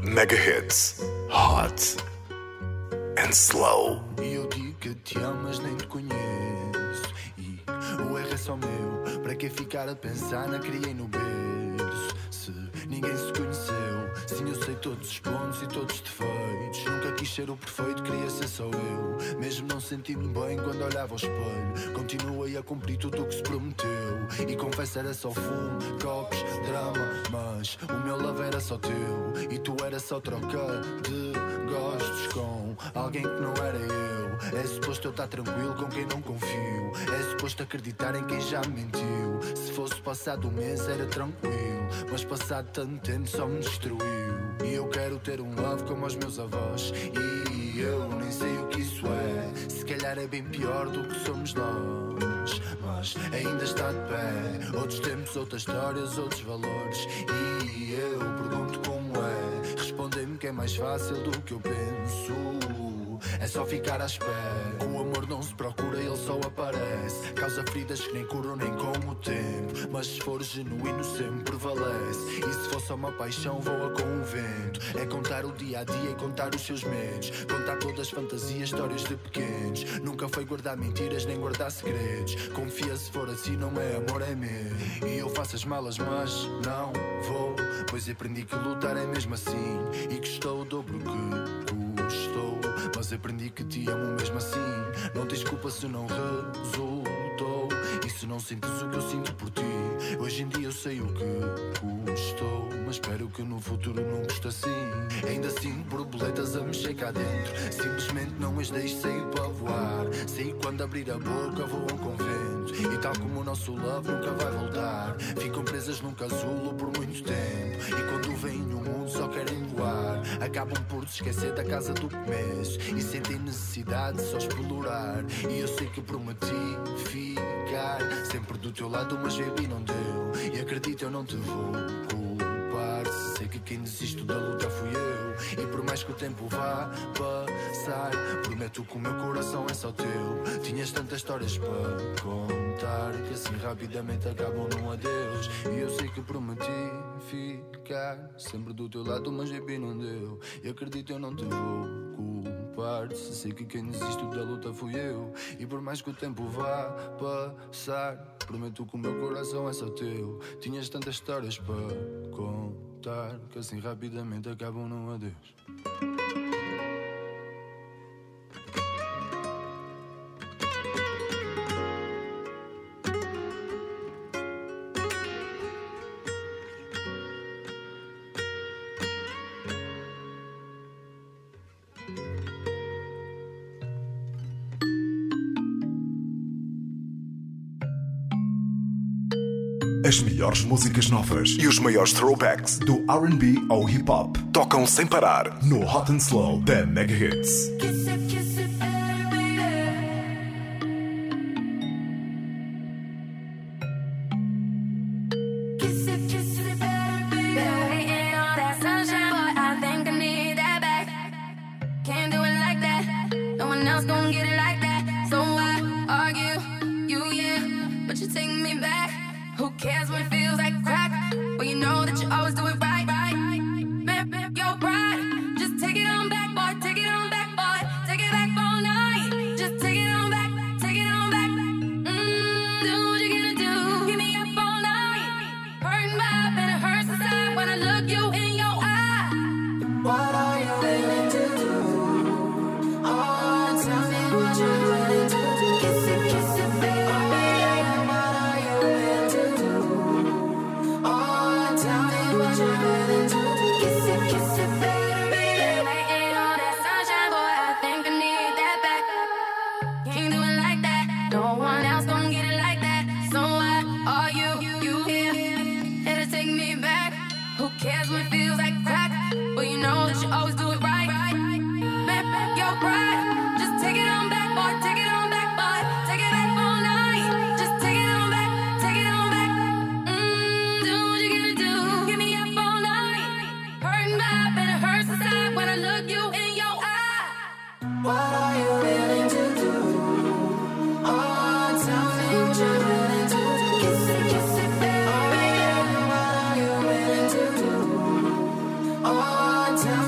Mega Hits, Hot and Slow. E eu digo que te amo, mas nem te conheço. E o erro é só meu. Para que ficar a pensar na criei no berço? Se ninguém se conheceu. Sim, eu sei todos os pontos e todos os defeitos. Nunca quis ser o perfeito, queria ser só eu. Mesmo não sentindo bem quando olhava ao espelho. Continuei a cumprir tudo o que se prometeu. E confesso era só fumo, copos, drama. Mas o meu love era só teu. E tu era só troca de gostos com alguém que não era eu. É suposto eu estar tranquilo com quem não confio. É suposto acreditar em quem já me mentiu. Se fosse passado um mês era tranquilo, mas passado tanto tempo só me destruiu. E eu quero ter um love como os meus avós. E eu nem sei o que isso é. Se calhar é bem pior do que somos nós, mas ainda está de pé. Outros tempos, outras histórias, outros valores. E eu pergunto como é. Respondem-me que é mais fácil do que eu penso. É só ficar à espera. O amor não se procura, ele só aparece. Causa feridas que nem curam nem com o tempo. Mas se for genuíno sempre prevalece. E se for só uma paixão voa com o vento. É contar o dia a dia e contar os seus medos. Contar todas as fantasias, histórias de pequenos. Nunca foi guardar mentiras nem guardar segredos. Confia, se for assim não é amor, é medo. E eu faço as malas mas não vou, pois aprendi que lutar é mesmo assim. E que estou o dobro que custou, mas aprendi que te amo mesmo assim. Não tens culpa se não resultou. E se não sentes o que eu sinto por ti. Hoje em dia eu sei o que custou, mas espero que no futuro não custe assim. Ainda sinto borboletas a mexer cá dentro. Simplesmente não as deixo sair para voar. Sei quando abrir a boca voam com vento. E tal como o nosso love nunca vai voltar. Ficam presas num casulo por muito tempo. E quando vêm no mundo só querem voar. Acabam por se esquecer da casa do começo. E sentem necessidade de só explorar. E eu sei que prometi ficar sempre do teu lado, mas baby não deu. E acredito eu não te vou culpar. Sei que quem desiste da luta fui eu. E por mais que o tempo vá passar, prometo que o meu coração é só teu. Tinhas tantas histórias para contar que assim rapidamente acabam num adeus. E eu sei que prometi ficar sempre do teu lado, mas baby não deu. E acredito eu não te vou culpar. Se sei que quem desiste da luta fui eu. E por mais que o tempo vá passar, prometo que o meu coração é só teu. Tinhas tantas histórias para contar que assim rapidamente acabam num adeus. As melhores músicas novas e os maiores throwbacks do R&B ao hip-hop tocam sem parar no Hot and Slow da Mega Hits. Oh,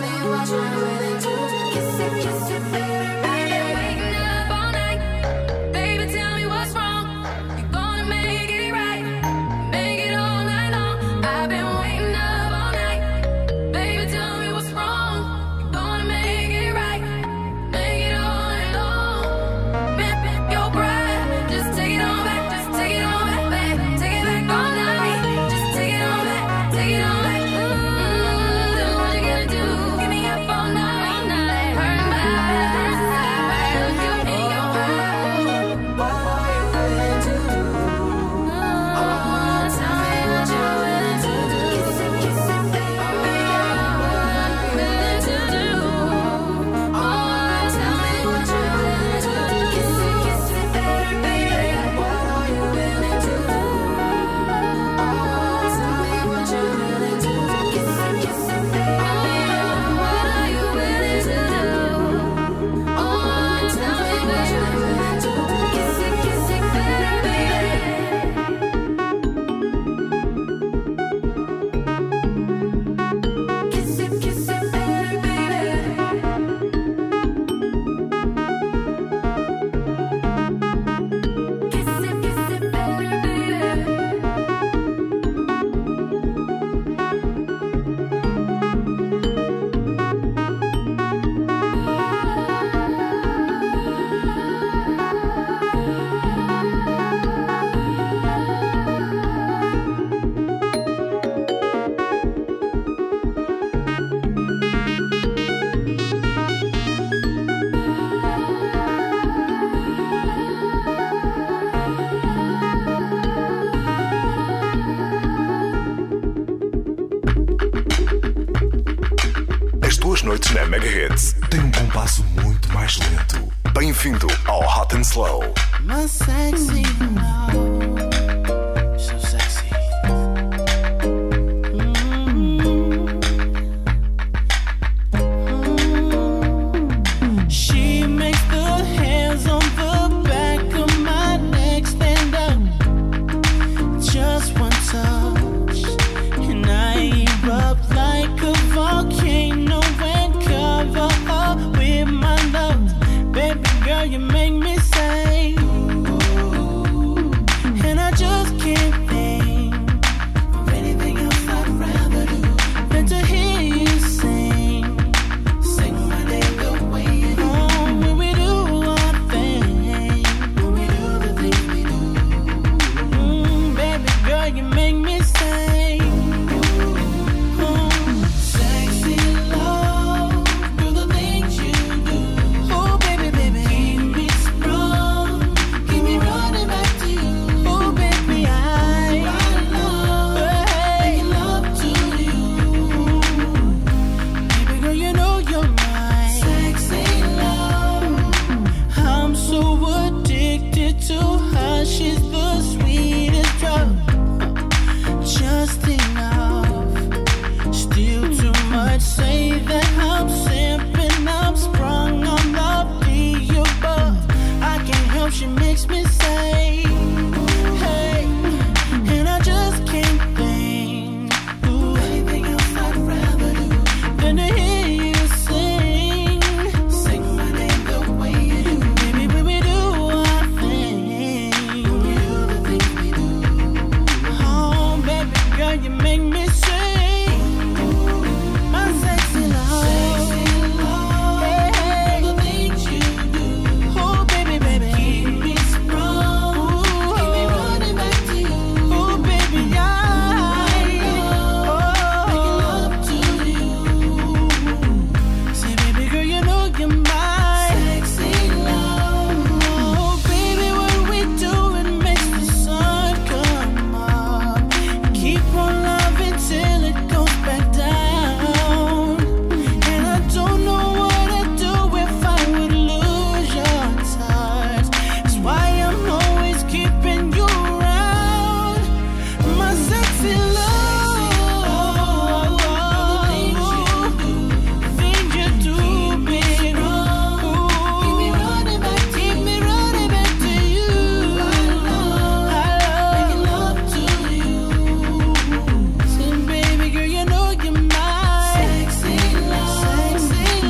noites na Mega Hits tem um compasso muito mais lento. Bem-vindo ao Hot and Slow. My sexy love, so sexy. She makes the hands on the back of my neck stand up. Just one touch, and I erupt like a volcano and cover up with my love. Baby girl, you make me say, and I just can't think of anything else I'd rather do than to hear you sing my name the way you do. When we do our thing, when we do the things we do. Baby girl, you make me say, sexy love, do the things you do. Oh baby, baby, keep me sprung, keep me running back to you. Oh baby, I love, making love to you. Baby girl, you know you're my sexy love. I'm so addicted to her, she's the sweetest drug. Just enough, still too much. Say that I'm simping, I'm sprung on the above. I can't help, she makes me say, hey, and I just can't think anything else I'd rather do than to hear you sing my name the way you do. Baby, when we do our thing, when we do the things we do. Oh, baby girl, you make me sing my sexy love. Hey, the things you do. Oh, baby, baby, keep me sprung, keep me running back to you. Oh, baby, making love to you. Say, baby girl, you know you're my sexy love. Oh, baby, what we do, it makes the sun come up. Keep on loving till it goes back down. And I don't know what I'd do if I would lose your touch. That's why I'm always keeping you around. My sexy love. The things you do, baby. Keep me running back to you. I love making love to you. Say, baby girl, you know you're my sexy love. Sexy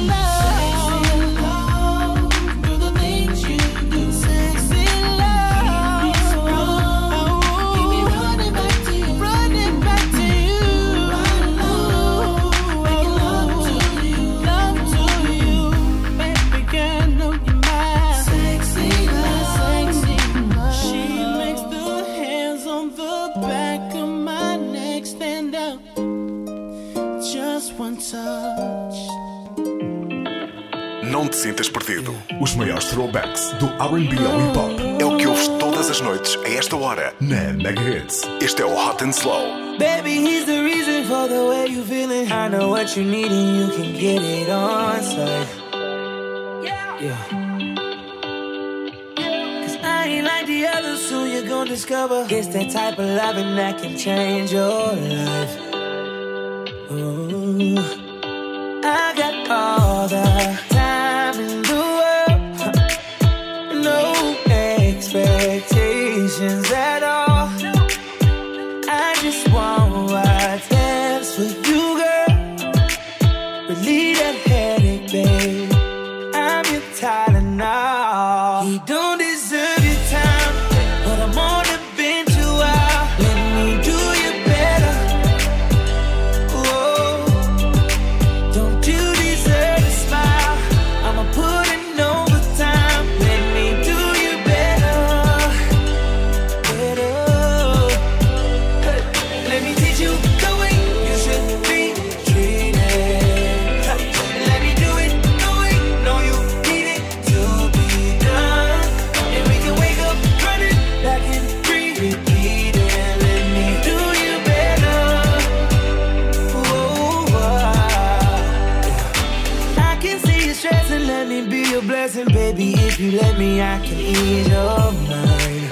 love. Do the things you do. Sexy love. Keep me sprung. Keep me running back to you. Running back to you. Making love to you. Love to you. Baby girl, know you're my sexy love. Sexy love. She makes the hands on the back of my neck stand up. Just one touch. Não te sintas perdido. Os maiores throwbacks do R&B ao hip hop é o que ouves todas as noites a esta hora na Mega Hits. Este é o Hot and Slow. Baby, he's the reason for the way you feeling. I know what you need and you can get it on site. Yeah. Cause I ain't like the others, so you're gonna discover it's that type of loving that can change your life. Ooh. I got all the time in the world. No expectations at all. I just want what's best for you, girl. Relieve that headache, babe. I'm your Tylenol. He don't deserve your time, but I'm on the bench a while. Let me do you better. Whoa. And baby, if you let me, I can ease your mind.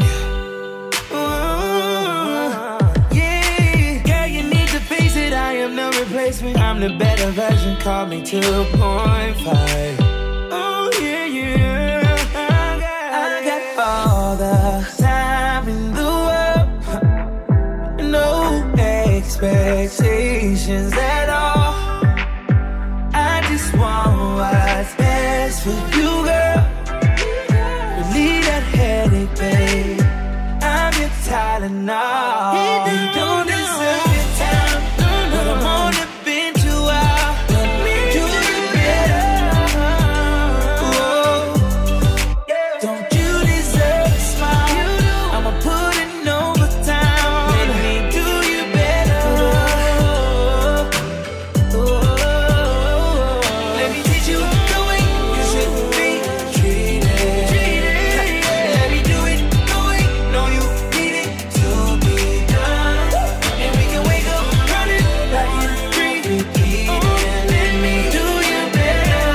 Yeah, girl, you need to face it. I am the replacement. I'm the better version. Call me 2.5. Oh yeah, yeah. I got all the time in the world. No expectations at all. I just want what's best for you, girl. Relieve that headache, babe. I'm your Tylenol. You don't deserve your time, but I'm on the bench a while. Let me do you better. Whoa. Don't you deserve a smile? I'ma put in overtime. Let me do you better. Let me teach you the way you should be treated. Let me do it the way, know you need it to be done. And we can wake up running like it's free. Let me do you better.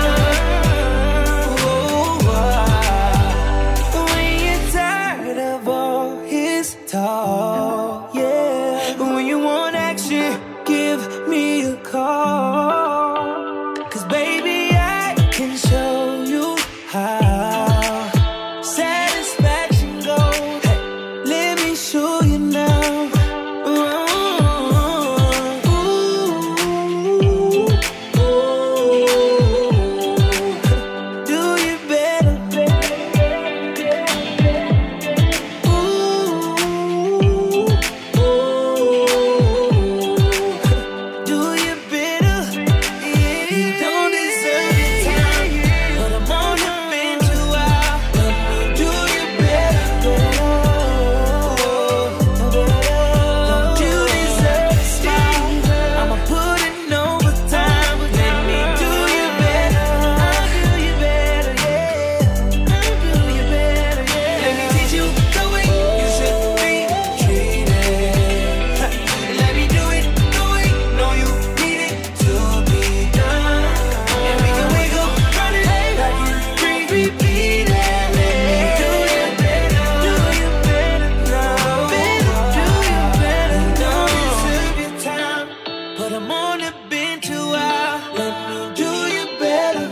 When you're tired of all his talk, yeah. When you want action, give me a call. 'Cause baby, I can show you how satisfaction goes. Hey, let me show you now. Do you better? Do you better? You don't deserve your time, but I'm on the bench a while. Let me do you better. Don't you deserve a smile? I'ma put in overtime. Let me do you better. I'll do you better, yeah. I'll do you better, yeah. Let me teach you the way you should be treated. Let me do it the way, know you need it to be done. And we can wake up running like it's free. Repeat it. Let me do you better. Do you better now. Better, do you better. Don't deserve your time, but I'm on the bench a while. Let me do you better.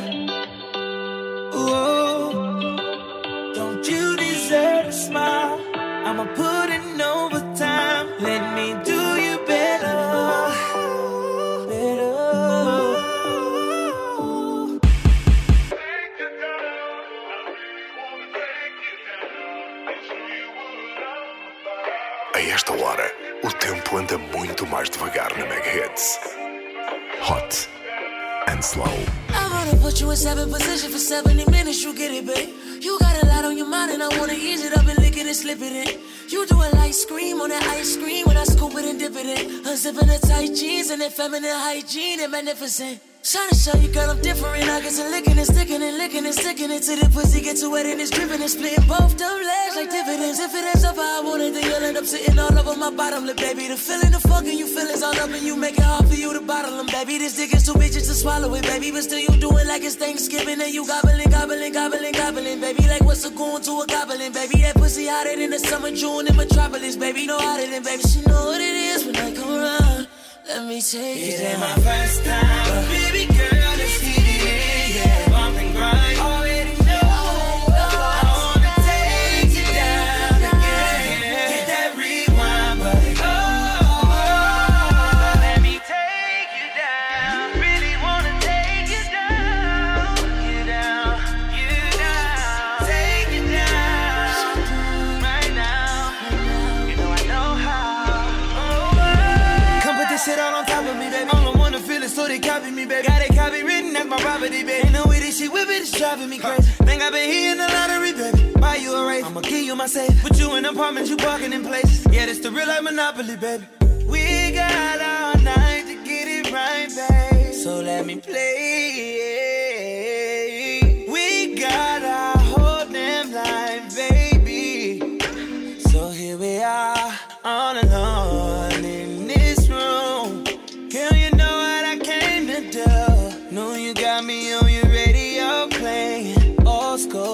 Whoa. Don't you deserve a smile? I'ma put in overtime. Let me do you better. Better. A esta hora, o tempo anda muito mais devagar na Mega Hits. Hot and slow. I wanna put you in 7th position for 70 minutes, you get it, babe. You got a lot on your mind and I wanna ease it up and lick it and slip it in. You do a light scream on that ice cream when I scoop it and dip it in. Unzipping the tight jeans and that feminine hygiene and magnificent. Trying to show you, girl, I'm different. I get to licking and sticking and licking and sticking it till the pussy gets too wet and it's dripping and splitting both them legs like dividends. If it ends up how I want it, then you'll end up sitting all over my bottom lip, baby. The feeling, the fucking you feelings all up and you make it hard for you to bottle them, baby. This dick is too bitches to swallow it, baby. But still you do it like it's Thanksgiving and you gobbling, gobbling, gobbling, gobbling, baby. Like what's a goon to a goblin, baby. That pussy hotter than the summer June in Metropolis, baby. No hotter than, baby. She know what it is when I come around. Let me take it. It ain't my first time, but baby girl, let's hit it, yeah. Bump and grind. Already know I wanna take you down again. Get that rewind, but let me take you down. Really wanna take you down, you down, you down. Take you down right now. You know I know how. Come put this shit all on top of me, baby. All I wanna feel is so they copy me, baby. Got it copy written, that's my property, baby. Ain't no way this shit with it, it's driving me crazy. Think I've been hitting the lottery, baby. Buy you a race, I'ma give you my safe. Put you in apartments, you parking in places. Yeah, this the real life Monopoly, baby. We got all night to get it right, babe. So let me play. We got our whole damn life, baby. So here we are, all alone in this room. Girl, you know what I came to do. Know you got me on your radio playing old school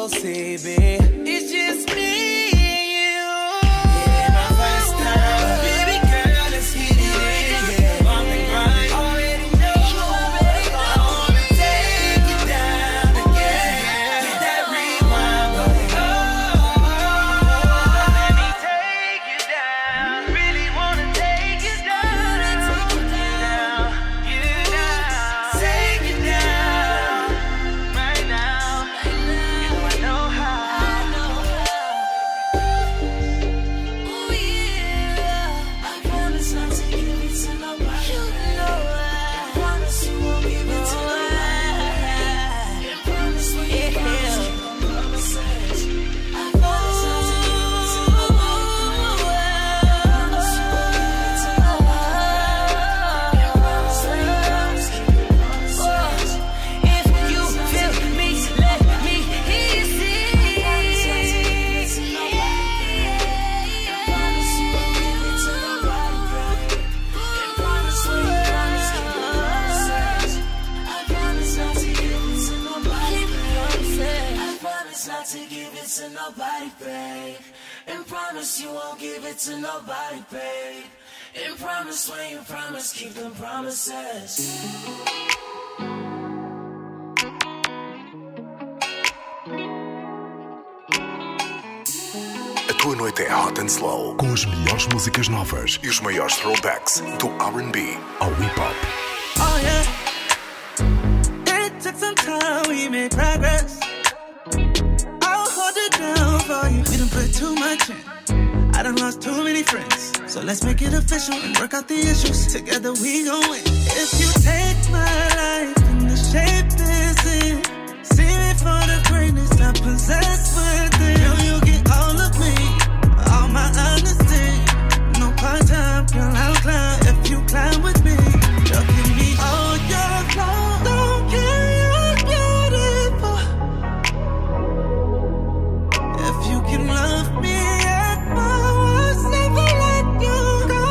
to nobody, babe. And promise you won't give it to nobody, babe. And promise when you promise, keep them promises. A tua noite é Hot and Slow, com as melhores músicas novas e os maiores throwbacks do R&B ao hip hop. Oh yeah, it took some time, we made progress. I'll hold it down for you. We done put too much in. I done lost too many friends. So let's make it official and work out the issues. Together we gon' win. If you take my life in the shape this is, see me for the greatness I possess within. Girl, you get all of me, all my honesty. No part-time, girl, I'll climb if you climb with me. Girl, give me all your love. Don't care, you're beautiful. If you can love me at my worst, never let you go.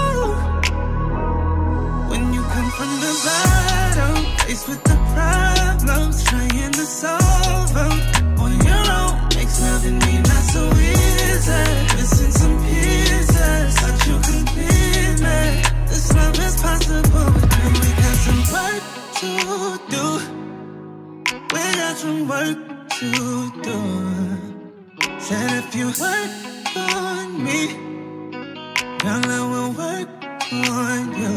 When you come from the bottom, faced with the problems, trying to solve them on your own, makes loving me not so easy. Missing some pieces, but you complete me. This love is possible, but then we got some work to do. We got some work to do. Said if you work on me, girl, I will work on you.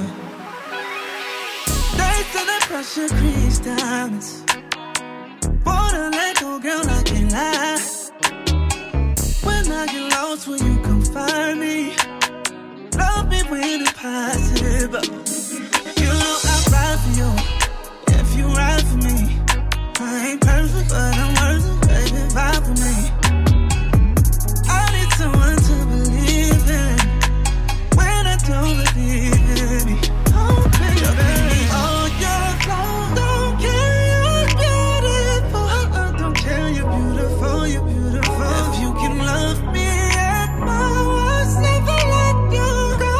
They say the pressure creates diamonds. Wanna let go, girl, I can't lie. When I get lost, will you come find me? Love me when it's possible. You know I'll ride for you if you ride for me. I ain't perfect, but I'm worth it, baby, vibe for me. I need someone to believe in when I don't believe in me. Oh, baby, all your flaws, don't care, you're beautiful. Don't care, you're beautiful, you're beautiful. If you can love me at my worst, never let you go.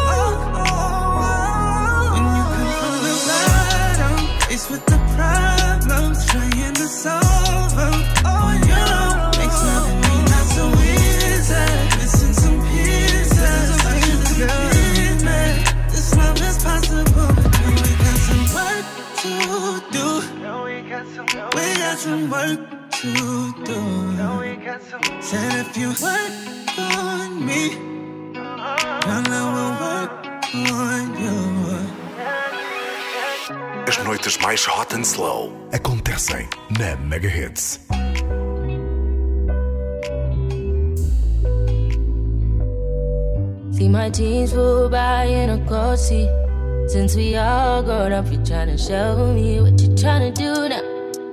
When you come from the bottom, faced with the problems, trying to solve them on your own, makes loving me not so easy. Missing some pieces, but you complete me. This love is possible, but then we got some work to do. We got some work to do. Said if you work on me, girl, I will work on you. As noites mais Hot and Slow acontecem na Mega Hits. See my teens full by in a cold seat. Since we all grown up, you tryna show me what you tryna do now.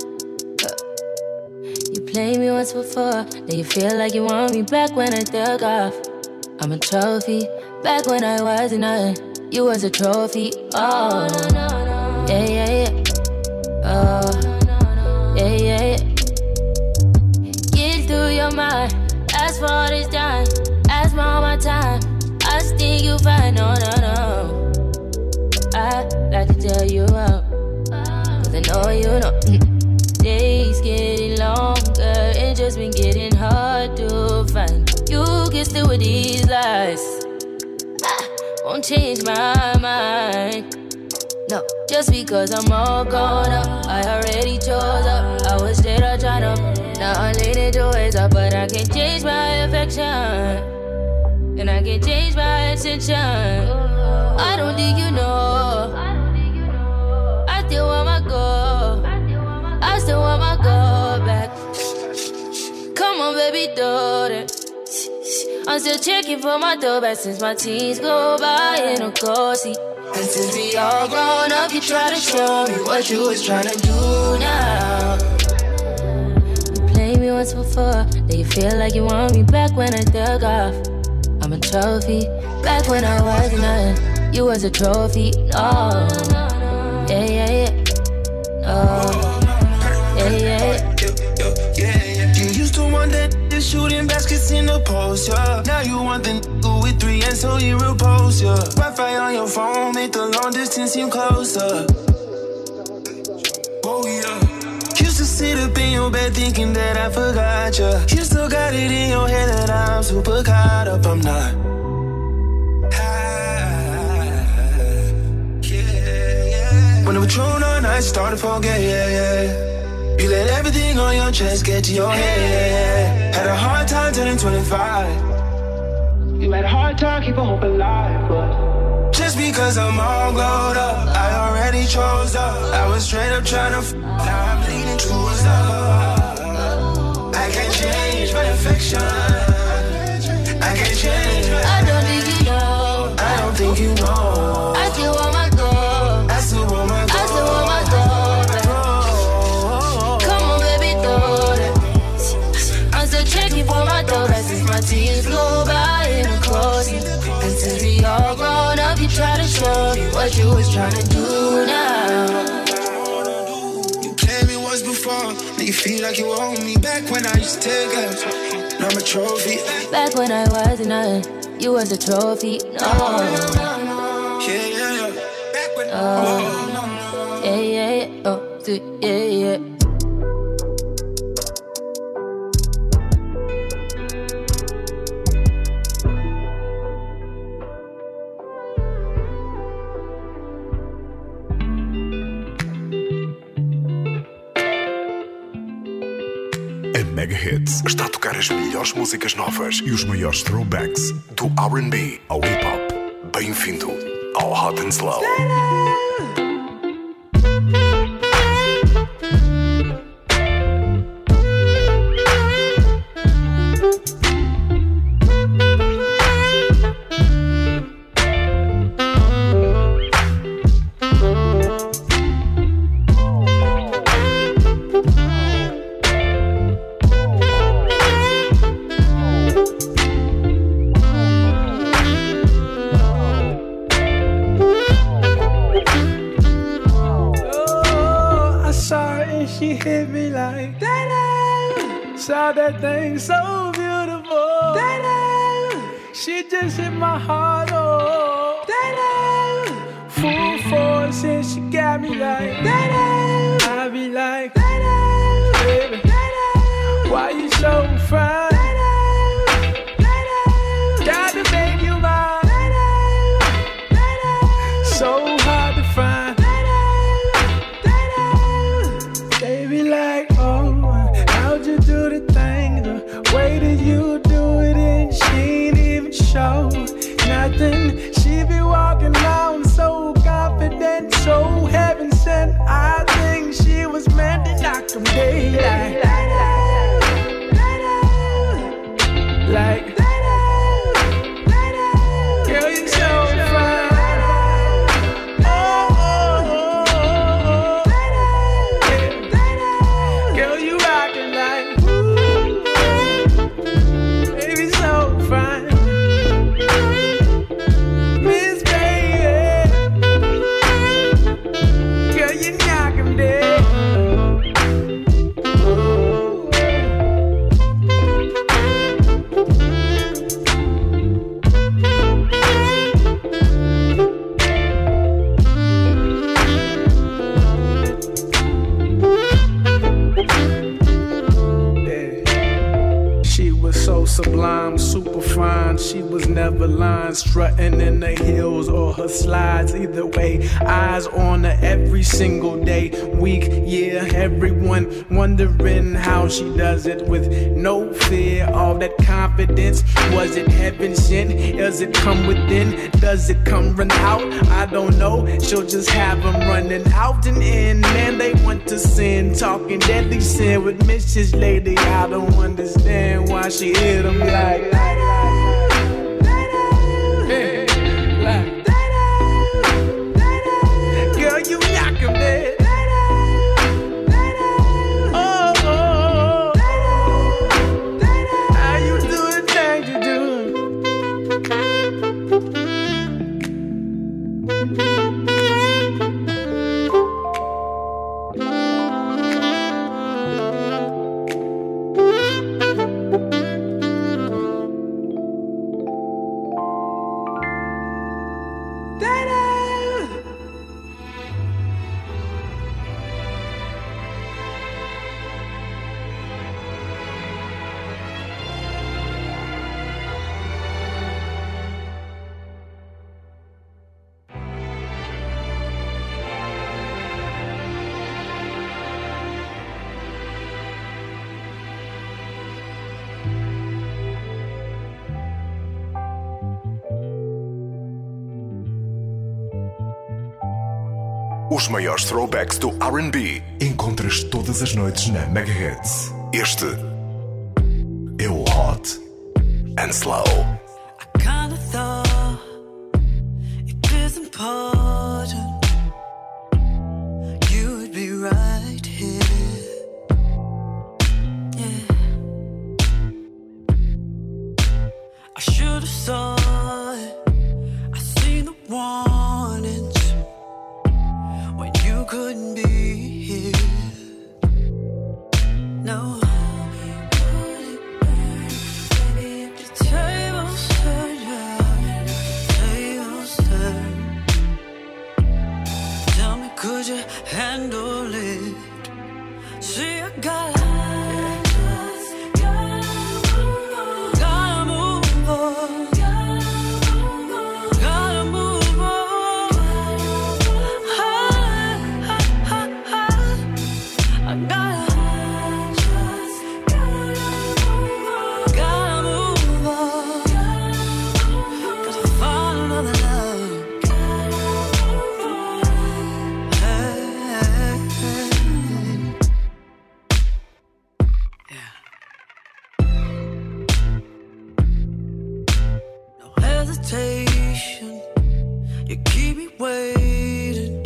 You played me once before, now you feel like you want me back when I dug off. I'm a trophy, back when I wasn't nothing. You was a trophy, oh yeah, yeah, yeah. Oh, yeah, yeah, yeah. Get through your mind, ask for all this time, ask for all my time. I think you fine, no, no, no. I like to tell you out, cause I know you know. Days getting longer, it just been getting hard to find. You can still with these lies, won't change my mind. No, just because I'm all grown up, I already chose up. I was straight up tryna, now I'm leaning towards up, but I can't change my affection, and I can't change my attention. I don't think you know, I still want my goal, I still want my goal back. Come on, baby, do it. I'm still checking for my door back since my teens go by in a car seat. And since we all grown up, you try to show me what you was trying to do now. You played me once before, now you feel like you want me back when I dug off. I'm a trophy, back when I wasn't nothing. You was a trophy, no. Yeah, yeah, yeah. No. Yeah, yeah, yeah. You used to want that shooting baskets in the post, yeah. Now you want the nigga with 3 and so you repose, yeah. Wi-Fi on your phone make the long distance seem closer. Oh yeah. Used to sit up in your bed thinking that I forgot you. You still got it in your head that I'm super caught up. I'm not. When the Patron on night started to forget, you let everything on your chest get to your head. Had a hard time turning 25. You had a hard time keeping hope alive, but just because I'm all glowed up, I already chose up. I was straight up trying to now I'm leaning towards up. I can't change my affection. I can't change my I don't think you know. I don't think you know. I still want my gold. I still want my I still want my gold. Come on, baby, throw that. I'm still checking for my dough. Since my tears go by in a closing. And since we all grown up, you try to show me what you was trying to do now. You played me once before. Now you feel like you own me. Back when I used to take us. Now I'm a trophy. Back when I wasn't nothing, you was a trophy. No. Yeah. Back when Yeah. Oh, yeah. A Mega Hits está a tocar as melhores músicas novas e os maiores throwbacks do R&B ao hip hop. Bem-vindo ao Hot and Slow. She hit me like that. Saw that thing so beautiful. That she just hit my heart. Oh, that full force and she got me like that. I be like that, baby. Why you so fine? Got to make you mine. So hard to find. Like, oh, how'd you do the thing? The way that you do it, and she ain't even show nothing. She be walking around so confident, so heaven sent. I think she was meant to knock them dead. Like, girl, you so fine. Sublime, super fine. She was never lying, strutting in the hills or her slides. Either way, eyes on her every single day, week, year. Everyone wondering how she does it with no fear. All that confidence, was it heaven sent? Does it come within? Does it come run out? I don't know. She'll just have them running out and in. Man, they want to sin, talking deadly sin with Mrs. Lady. I don't understand why she hit them like hey, like girl, you knock him dead. Oh, how you do the thing you do? Os maiores throwbacks do R&B encontras todas as noites na Megahits. Este é o Hot and Slow. I kinda thought it was important you would be right here. Yeah, I should have saw it. I seen the warnings when you couldn't be here. No. Could you handle it? See, I gotta move on. Gotta move on. I gotta move on. Gotta find another love. You keep me waiting,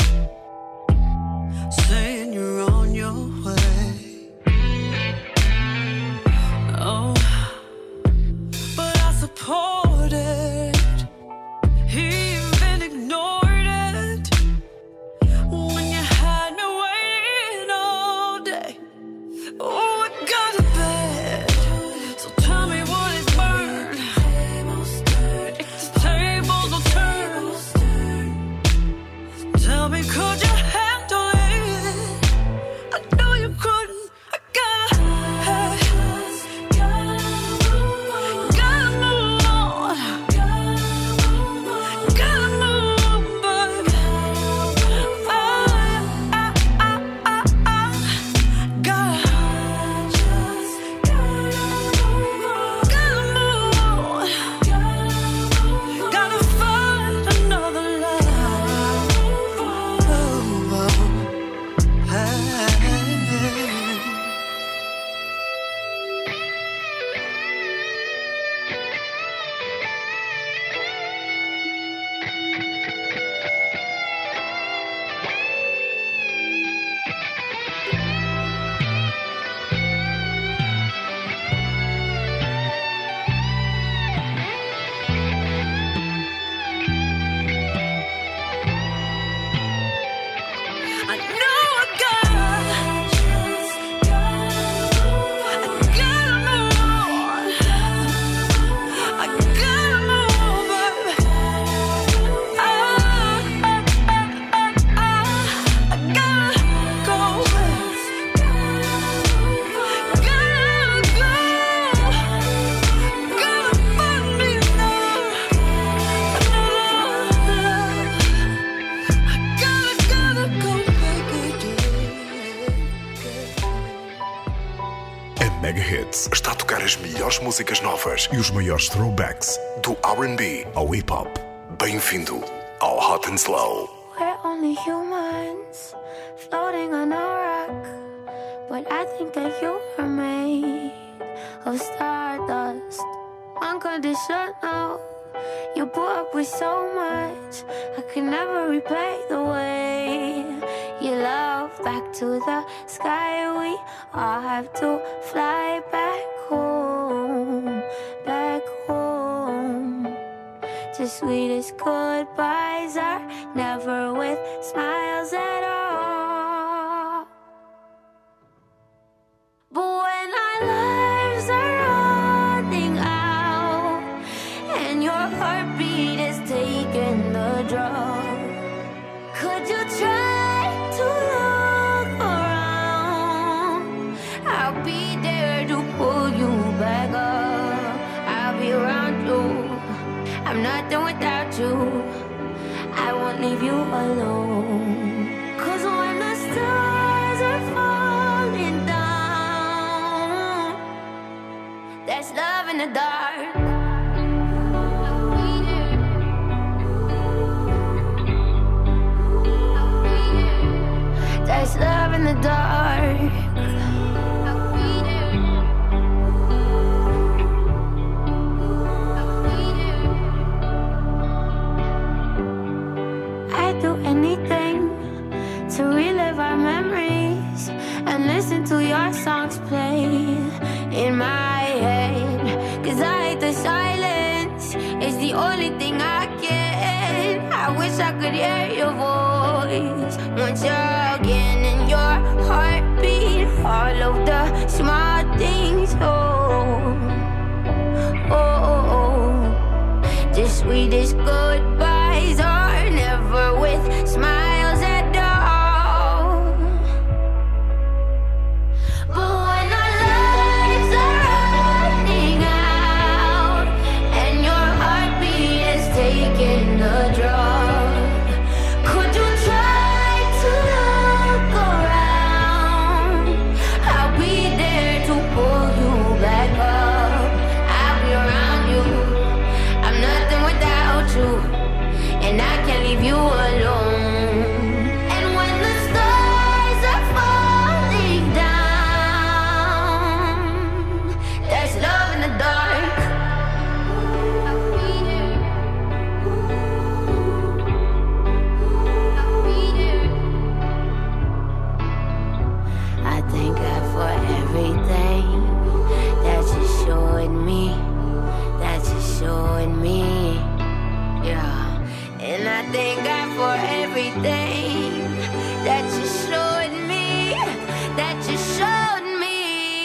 saying you're on your way. Oh, but I supported, he even ignored it when you had me waiting all day. Oh, I got it bad, so tell me what is burned. Tell me, could you handle it? I know you couldn't. I gotta move on. Gotta move, baby. Gotta find another love. I know I gotta move on. I gotta move, baby. I gotta go. Gotta find me another gotta go. A Megahits está a tocar as melhores músicas novas e os maiores throwbacks do R&B ao hip-hop. Bem-vindo ao Hot and Slow. We're only humans floating on a rock, but I think that you are made of stardust. Unconditional, you put up with so much. I could never repay the way you love. Back to the sky, we all have to fly back home, back home. The sweetest goodbyes are never with smiles at all. But when our lives are running out and your heartbeat is taking the draw, could you try to look around? I'll be there to pull you back up. I'll be around you. I'm nothing without you. I won't leave you alone. 'Cause when the stars are falling down, there's love in the dark. I'll be there. dark. I'd do anything to relive our memories and listen to your songs play in my head. 'Cause I hate the silence, it's the only thing I get. I wish I could hear your voice once again, in your heartbeat, all of the small things. The sweetest goodbyes are never with smiles at all. But when our lives are running out and your heartbeat is taking the drug, could you try to look around? I'll be there to pull you back up. I'll be around you. I'm nothing without you, and I can't leave you alone. And when the stars are falling down, there's love in the dark. I thank God for everything that you showed me, that you showed me, yeah. And I thank God for everything that you showed me, that you showed me.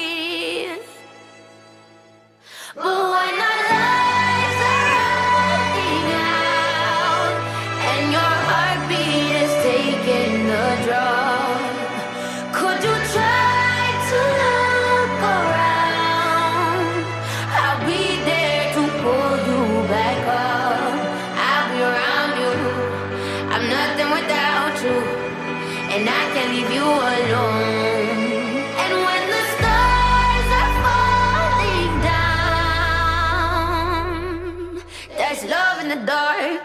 But when our lives are running out and your heartbeat is taking the drug, could you try to look around? I'll be there to pull you back up. I'll be around you. I'm nothing without you, and I can't leave you alone. And when the stars are falling down, there's love in the dark.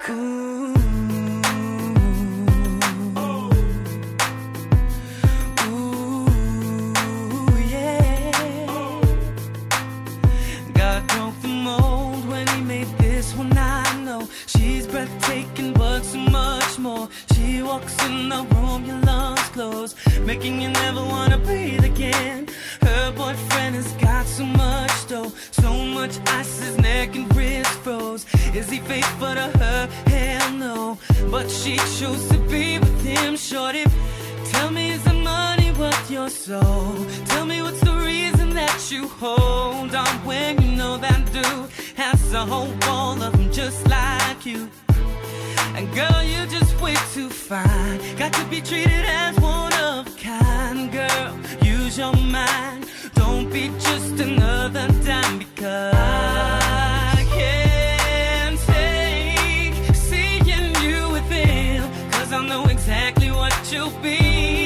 God broke the mold when he made this one, I know. She's breathtaking but so much more. She walks in the room, your lungs close, making you never wanna breathe again. Her boyfriend has got so much dough, so much ice, his neck and wrist froze. Is he faithful to her? Hell no. But she chose to be with him, shorty. Tell me, is the money worth your soul? Tell me, what's the reason that you hold on when you know that dude has a whole wall of them just like you? And girl, you're just way too fine. Got to be treated as one of a kind. Girl, use your mind. Don't be just another dime, because I can't take seeing you with him. 'Cause I know exactly what you'll be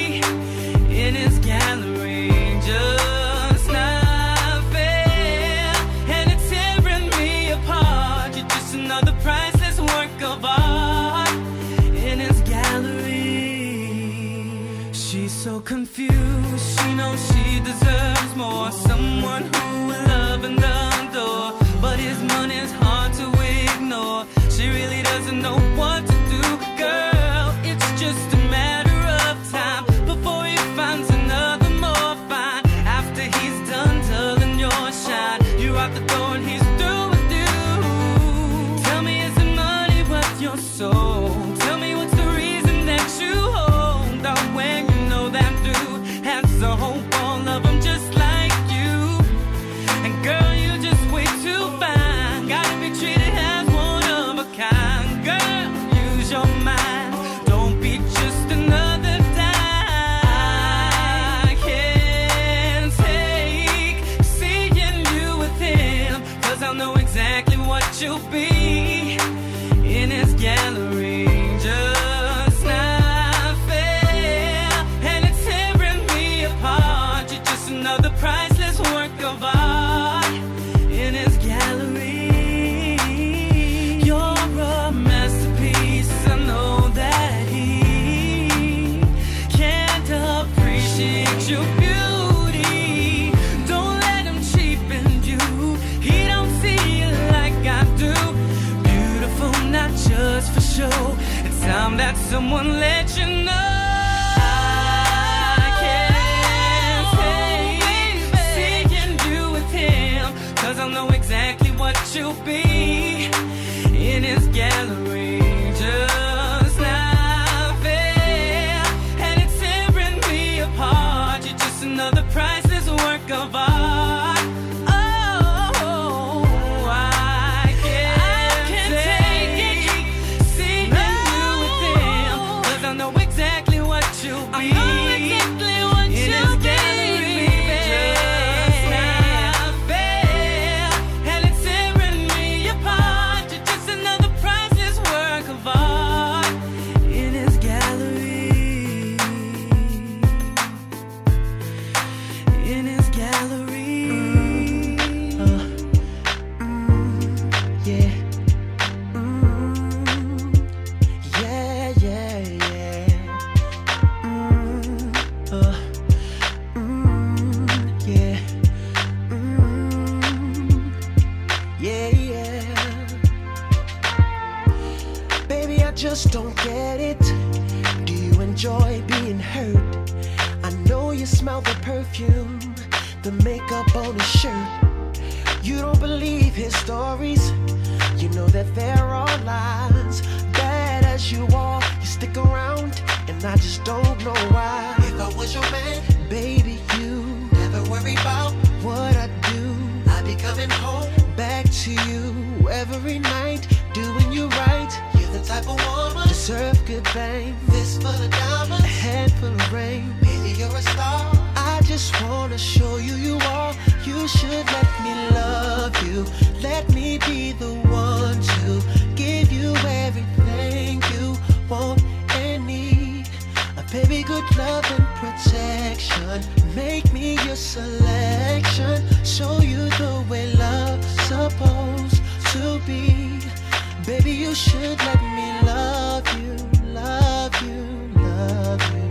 in his gallery. Just not fair, and it's tearing me apart. You're just another priceless work of art in his gallery. She's so confused, she knows she deserves more. Someone who will love and adore, but his money's hard to ignore. She really doesn't know what to do. Girl, it's just a matter of time before he finds another more fine. After he's done dulling your shine, you're out the door and he's through with you. Tell me, is the money worth your soul? Tell me, what's the reason that you hold on when you know that dude has a whole ball of them just like you? And girl, you're just way too fine. Gotta be treated as one of a kind. Girl, someone let you know. I can't say seeing you with him, 'cause I know exactly what you'll be in his gallery. Just not fair, and it's tearing me apart. You're just another priceless work of art. Just don't get it. Do you enjoy being hurt? I know you smell the perfume, the makeup on his shirt. You don't believe his stories. You know that there are lies. Bad as you are, you stick around, and I just don't know why. If I was your man, baby, you never worry about what I do. I'd be coming home back to you every night, doing you right. The type of woman deserve good fame. Fist full of diamonds, a handful of rain. Baby, you're a star. I just wanna show you you are. You should let me love you. Let me be the one to give you everything you want and need. A baby, good love and protection. Make me your selection. Show you the way love's supposed to be. Baby, you should let me love you, love you, love you,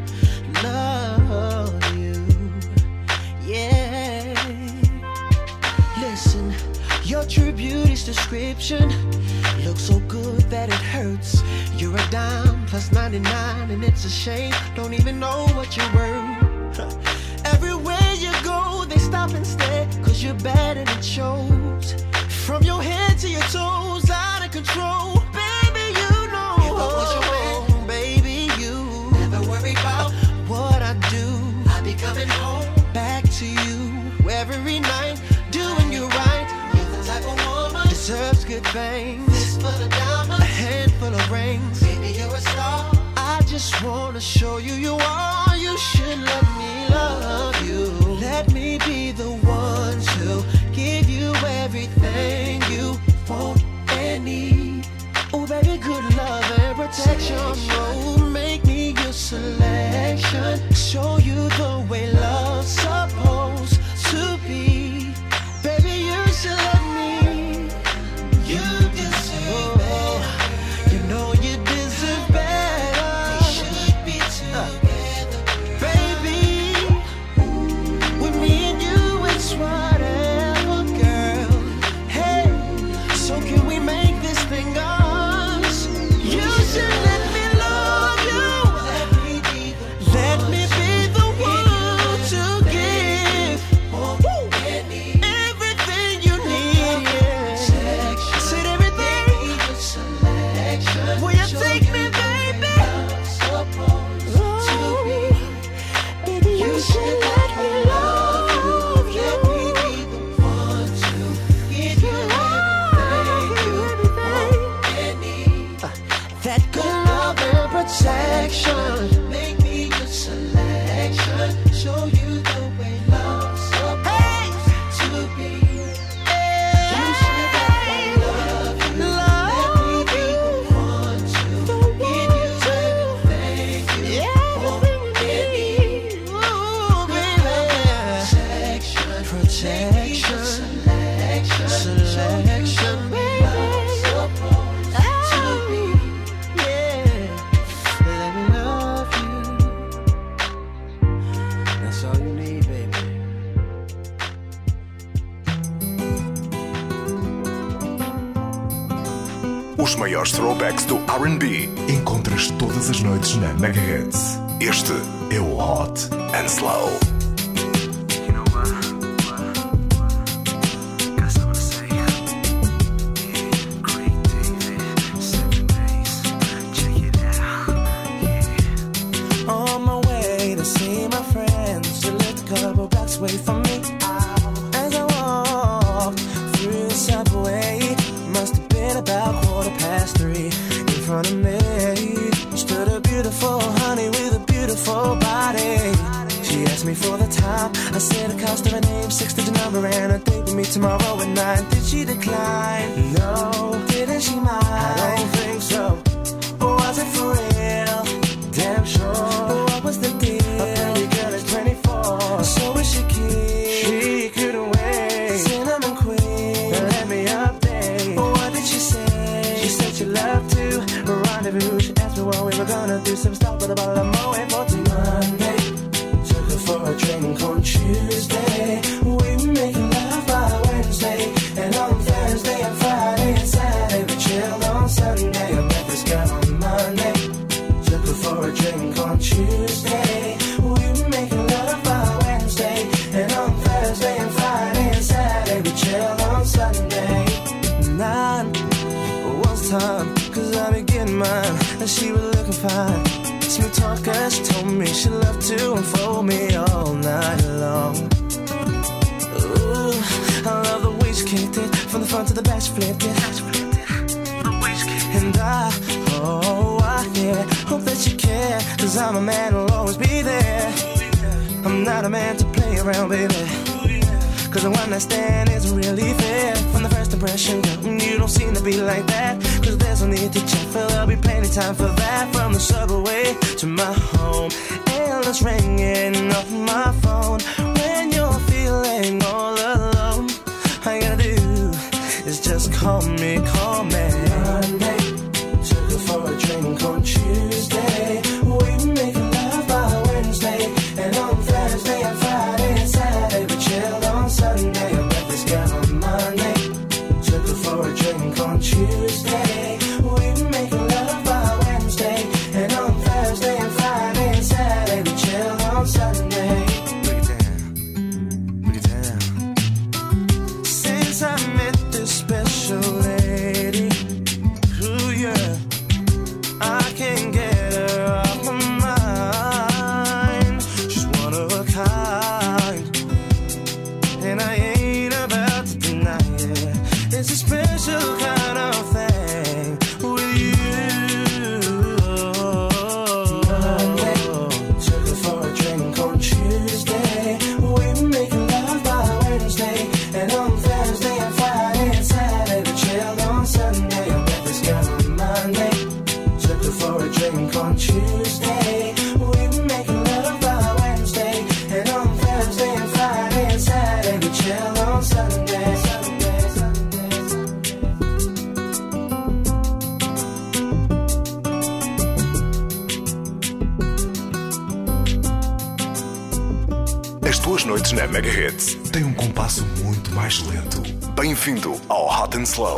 love you, yeah. Listen, your true beauty's description looks so good that it hurts. You're a dime plus 99, and it's a shame, don't even know what you're worth. Everywhere you go, they stop and stare, 'cause you're bad and it shows. From your head to your toes, out of control. Baby, you know. If I was your man, baby, you never worry about what I do. I'll be coming home back to you every night, doing you right. You're the type of woman deserves good things. Fist full of diamonds, a handful of rings. Baby, you're a star. I just wanna show you you are. You should let me love you. Let me be the one to give you everything you want and need. Oh, baby, good love and protection. Oh, make me your selection. Show you the way love's supposed to be. Baby, you should let me. You deserve better. You know you deserve better. We should be together, baby. With me and you, it's whatever, girl. Hey, so can we make this thing us? You should let me love you. Let me be the one to give everything you need. Yeah. Said everything. Will you take me, baby? Baby, you should let me love you. Let me be the one to give you everything you need. That good love and protection. Make me your selection. Show you the way love's supposed to be. You should let me love you. Let me be the one to give you everything you want and need. Ooh, baby. Protection. Selection, baby. Supposed to be. Yeah. Let me love Os maiores throwbacks do R&B encontras todas as noites na Megahits. Este é o Hot and Slow. Away from me as I walked through the subway. Must have been about 3:15. In front of me stood a beautiful honey with a beautiful body. She asked me for the time. I said the cost of her name, 6-digit number, and a date with me tomorrow at 9. Did she decline? No. Didn't she mind? I don't think so. Or was it for real? Damn sure. What was the deal? A pretty girl is 24. So is she cute? She couldn't wait. Cinnamon queen, let me update. What did she say? She said she loved to rendezvous. She asked me what we were gonna do. Some stop with a bottle of Moët for Monday. Took her for a drink on Tuesday. We were making love by Wednesday. And on Thursday and Friday and Saturday we chilled on Sunday. I met this girl on Monday. Took her for a drink on Tuesday. We were making love by Wednesday. And on Thursday and Friday and Saturday we chilled on Sunday. 9 was time, cause I be getting mine. And she was looking fine. Smooth talker, she told me she loved to unfold me all night long. Ooh, I love the way she kicked it. From the front to the back she flipped it. And I yeah, hope that you care. Cause I'm a man who'll always be there. I'm not a man to play around, baby. Cause the one I stand isn't really fair. From the first impression, girl, you don't seem to be like that. Cause there's no need to check, for there'll be plenty time for that. From the subway to my home, endless ringing off my phone. When you're feeling all alone, all you gotta do is just call me, call me. Monday, took her for a drink on Tuesday. We were making love by Wednesday. And on Thursday and Friday and Saturday we chilled on Sunday. I met this girl on Monday. Took her for a drink on Tuesday. We were making love by Wednesday. And on Thursday and Friday and Saturday we chilled on Sunday. Break it down, break it down. Since I met this special lady, ooh yeah, I can't get her off my mind. She's one of a kind, and I ain't about to deny it. It's a special kind of thing with you. Monday, took her for a drink on Tuesday. We were making love by Wednesday. And on Thursday and Friday and Saturday we chilled on Sunday. I met this girl on Monday. Took her for a drink on Tuesday. We were making love by Wednesday. And on Thursday and Friday and Saturday we chilled on Sunday. Sunday, Sunday, Sunday. As tuas noites na Megahits têm um compasso muito mais lento. Bem-vindo ao Hot and Slow.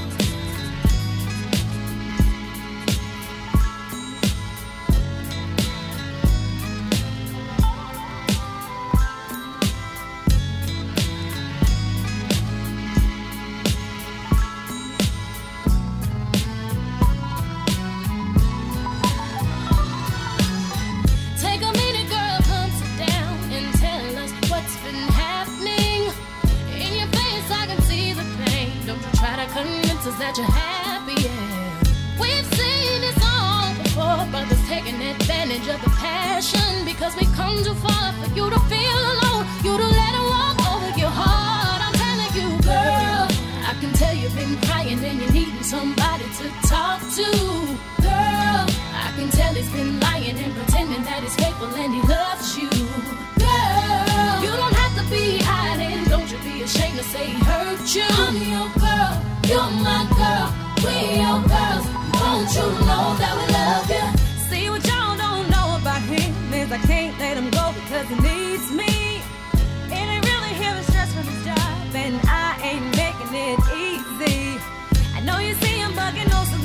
Take a minute, girl, come sit down and tell us what's been happening. In your face, I can see the pain. Don't you try to convince us that you're happy, yeah. We've seen this all before, brothers taking advantage of the passion. Because we come too far for you to feel alone, you to let it walk over your heart. I'm telling you, girl, I can tell you've been crying and you're needing somebody to talk to. Girl, I can tell he's been lying and pretending that he's faithful and he loves you. Girl, you don't have to be hiding. Don't you be ashamed to say he hurt you. I'm your girl, you're my girl, we your girls. Won't you know that we love you? See, what y'all don't know about him is I can't let him go because he needs me. It ain't really him, it's stress from his job, and I ain't making it easy. I know you see him bugging, no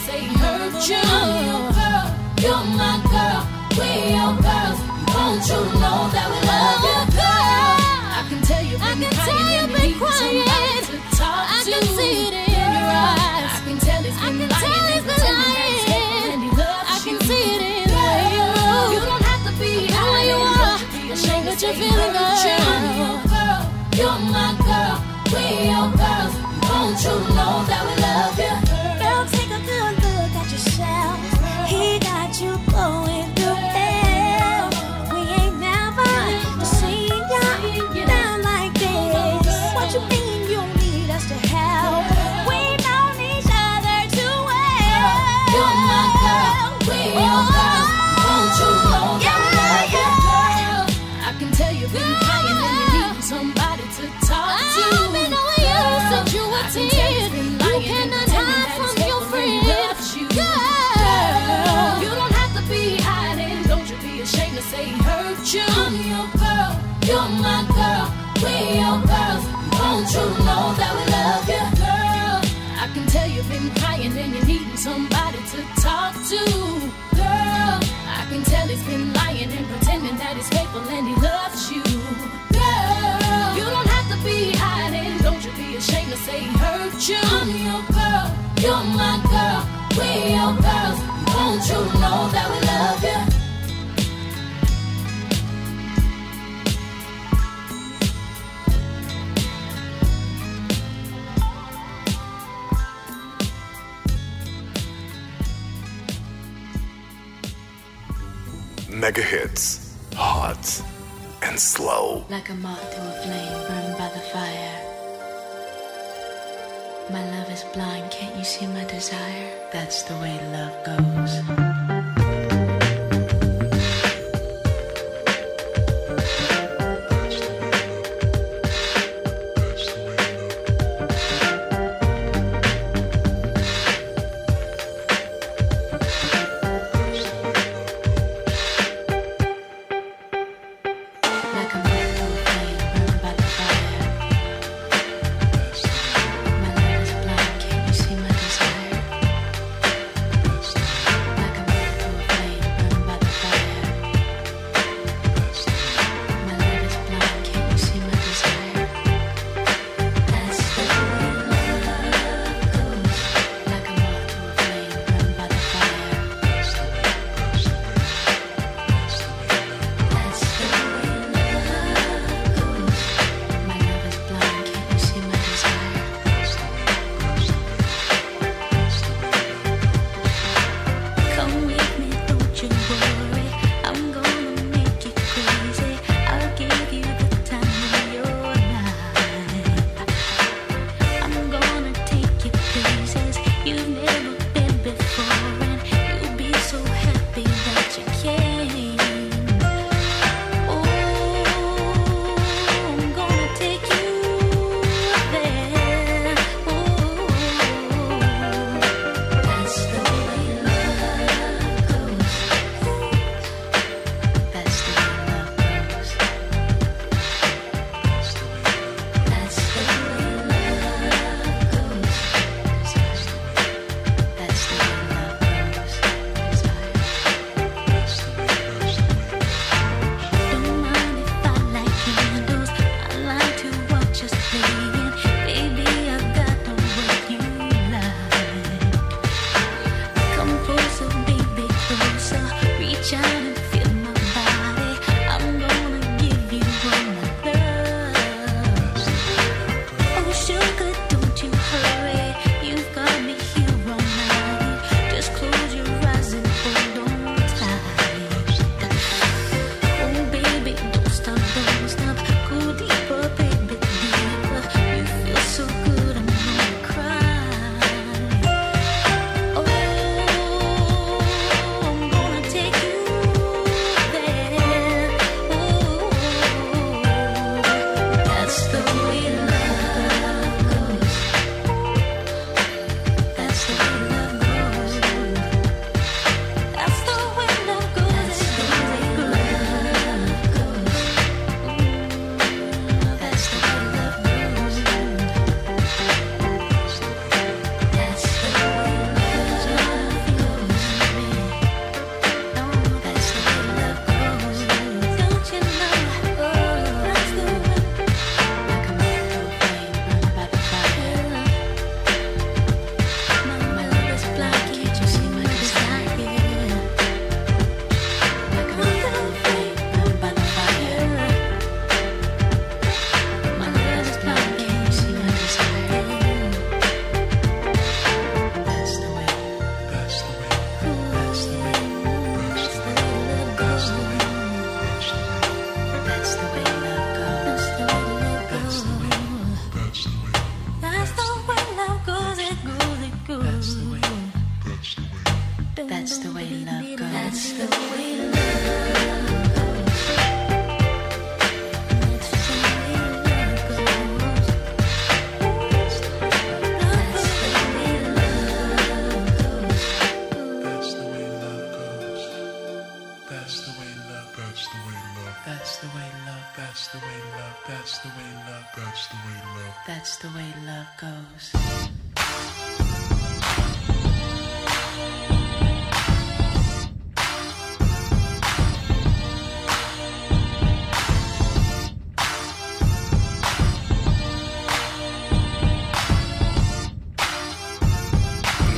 say he hurt you. I'm your girl, you're my girl, we're your girls. Won't you know that we love you, girl? I can tell you've been crying and you need somebody to talk to. I can see it in your eyes. I can tell he's been lying and pretending that he's hating and he loves you. I can see it in the way you move. You don't have to be how you are. Don't you be ashamed that you're feeling good. I'm your girl, you're my girl, we're your girls. Won't you know that we love you? Girl, take a good look at yourself. He got you going through hell. We ain't never seen you down like this. What you mean you need us to help? We know each other too well. You're my girl, we're your girls. Won't you know that we love you, girl? I can tell you've been crying and you need somebody to talk to. I've been knowing you since you were 10. You cannot hide from your friend. Girl, you don't have to be hiding. Don't you be ashamed to say he hurt you. I'm your girl, you're my girl, we're your girls. Won't you know that we love you, girl? I can tell you've been crying and you're needing somebody to talk to. Girl, I can tell he's been lying and pretending that he's faithful and he loves you. Girl, you don't have to be hiding. Don't you be ashamed to say he hurt you. I'm your girl, you're my girl, we're your girls. Won't you know that we love you? Mega hits, hot and slow. Like a moth to a flame burned by the fire. My love is blind, can't you see my desire? That's the way love goes. Like a moth to a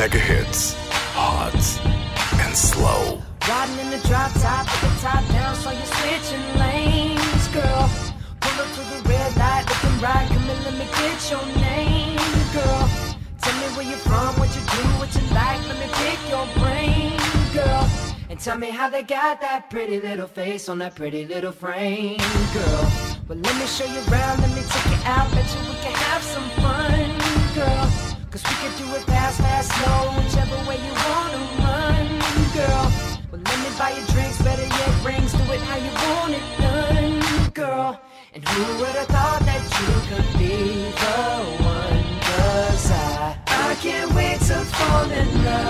Mega Hits, hot and slow. Riding in the drop top with the top down, so you're switching lanes, girl. Pull up to the red light, looking right, come and let me get your name, girl. Tell me where you're from, what you do, what you like, let me pick your brain, girl. And tell me how they got that pretty little face on that pretty little frame, girl. Well, let me show you around, let me take you out, bet you we can have some fun, girl. Cause we can do it fast, fast, slow, whichever way you wanna run, girl. Well, let me buy you drinks, better yet rings, do it how you want it done, girl. And who would have thought that you could be the one? Cause I can't wait to fall in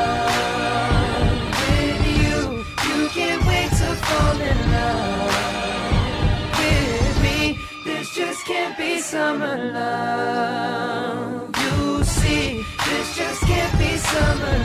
love with you. You can't wait to fall in love with me. This just can't be summer love. You see, this just can't be summer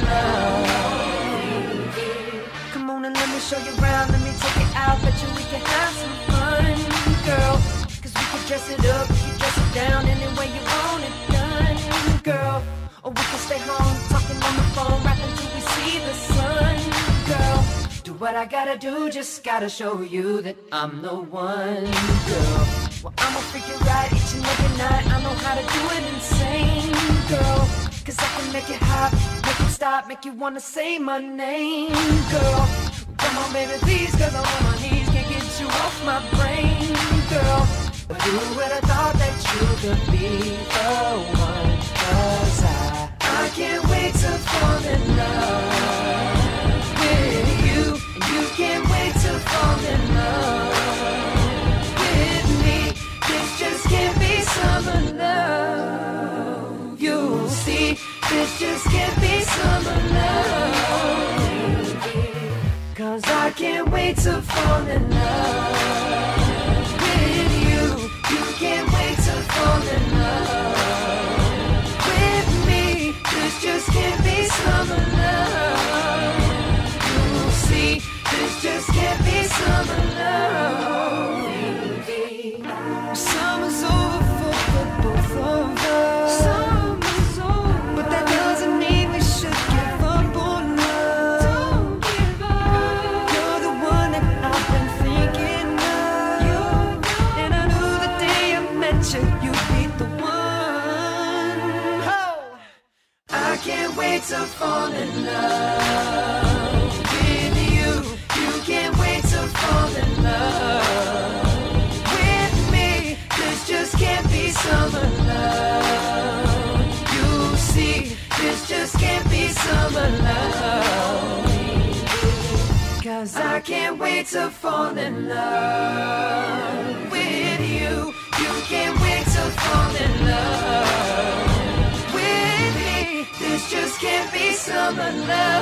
love. Come on and let me show you around, let me take it out, bet you we can have some fun, girl. Cause we can dress it up, we can dress it down, any way you want it done, girl. Or we can stay home, talking on the phone, rapping till we see the sun, girl. Do what I gotta do, just gotta show you that I'm the one, girl. Well, I'ma freak it right each and every night, I know how to do it insane, girl. Cause I can make it hot, make it stop, make you wanna say my name, girl. Come on baby please, cause I'm on my knees, can't get you off my brain, girl. But who would have thought that you could be the one? Cause I can't wait to fall in love with you. And you can't wait to fall in love with me. This just can't be summer love. You'll see, this just can't be summer love. Cause I can't wait to fall in love with you. You can't wait to fall in love with me. This just can't be summer love. You'll see, this just can't be summer love. Summer's over for both of us. Summer's over, but that doesn't mean we should give up on love. Don't give up. You're the one that I've been thinking of. And I knew the day I met you, you'd be the one. Oh, I can't wait to fall in love with you. You can't wait to fall in love with me. This just can't be summer love. You see, this just can't be summer love. Cause I can't wait to fall in love with you. You can't wait to fall in love with me. This just can't be summer love.